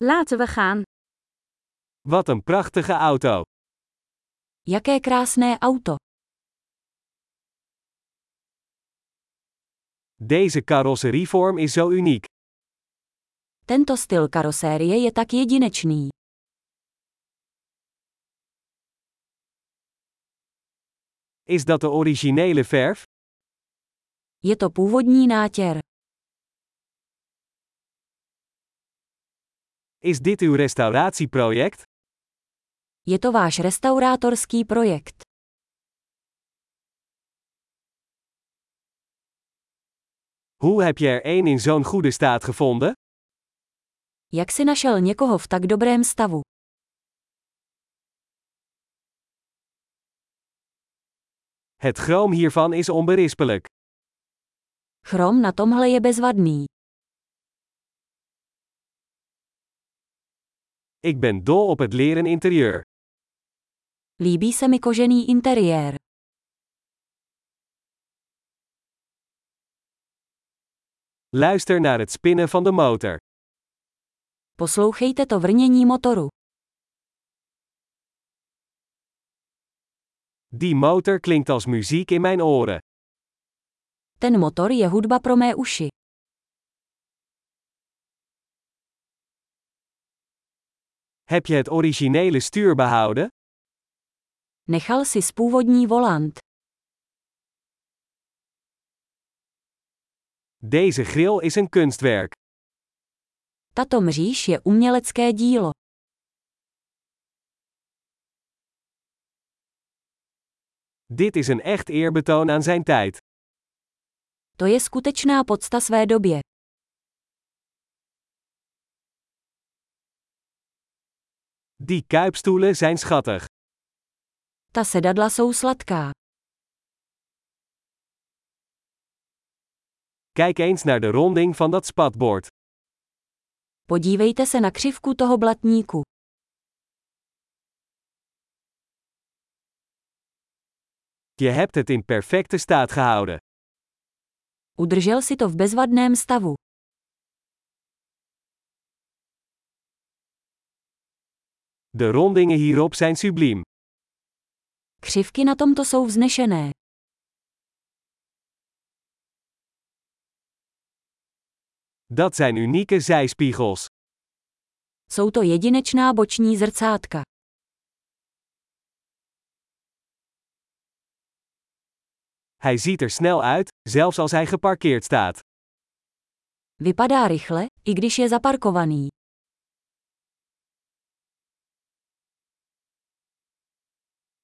Laten we gaan. Wat een prachtige auto. Jaké krásné auto. Deze carrosserievorm is zo uniek. Tento styl karosérie je tak jedinečný. Is dat de originele verf? Je to původní nátěr. Is dit uw restauratieproject? Je to váš restaurátorský projekt. Hoe heb je er één in zo'n goede staat gevonden? Jak si našel někoho v tak dobrém stavu? Het chroom hiervan is onberispelijk. Chrom na tomhle je bezvadný. Ik ben dol op het leren interieur. Líbí se mi kožený interiér. Luister naar het spinnen van de motor. Poslouchejte to vrnění motoru. Die motor klinkt als muziek in mijn oren. Ten motor je hudba pro mé uši. Heb je het originele stuur behouden? Nechal si původní volant. Deze grill is een kunstwerk. Tato mříž je umělecké dílo. Dit is een echt eerbetoon aan zijn tijd. To je skutečná podsta své době. Die kuipstoelen zijn schattig. Ta sedadla jsou sladká. Kijk eens naar de ronding van dat spatbord. Podívejte se na křivku toho blatníku. Je hebt het in perfecte staat gehouden. Udržel si to v bezvadném stavu. De rondingen hierop zijn subliem. Křivky na tomto jsou vznešené. Dat zijn unieke zijspiegels. Jsou to jedinečná boční zrcátka. Hij ziet er snel uit, zelfs als hij geparkeerd staat. Vypadá rychle, i když je zaparkovaný.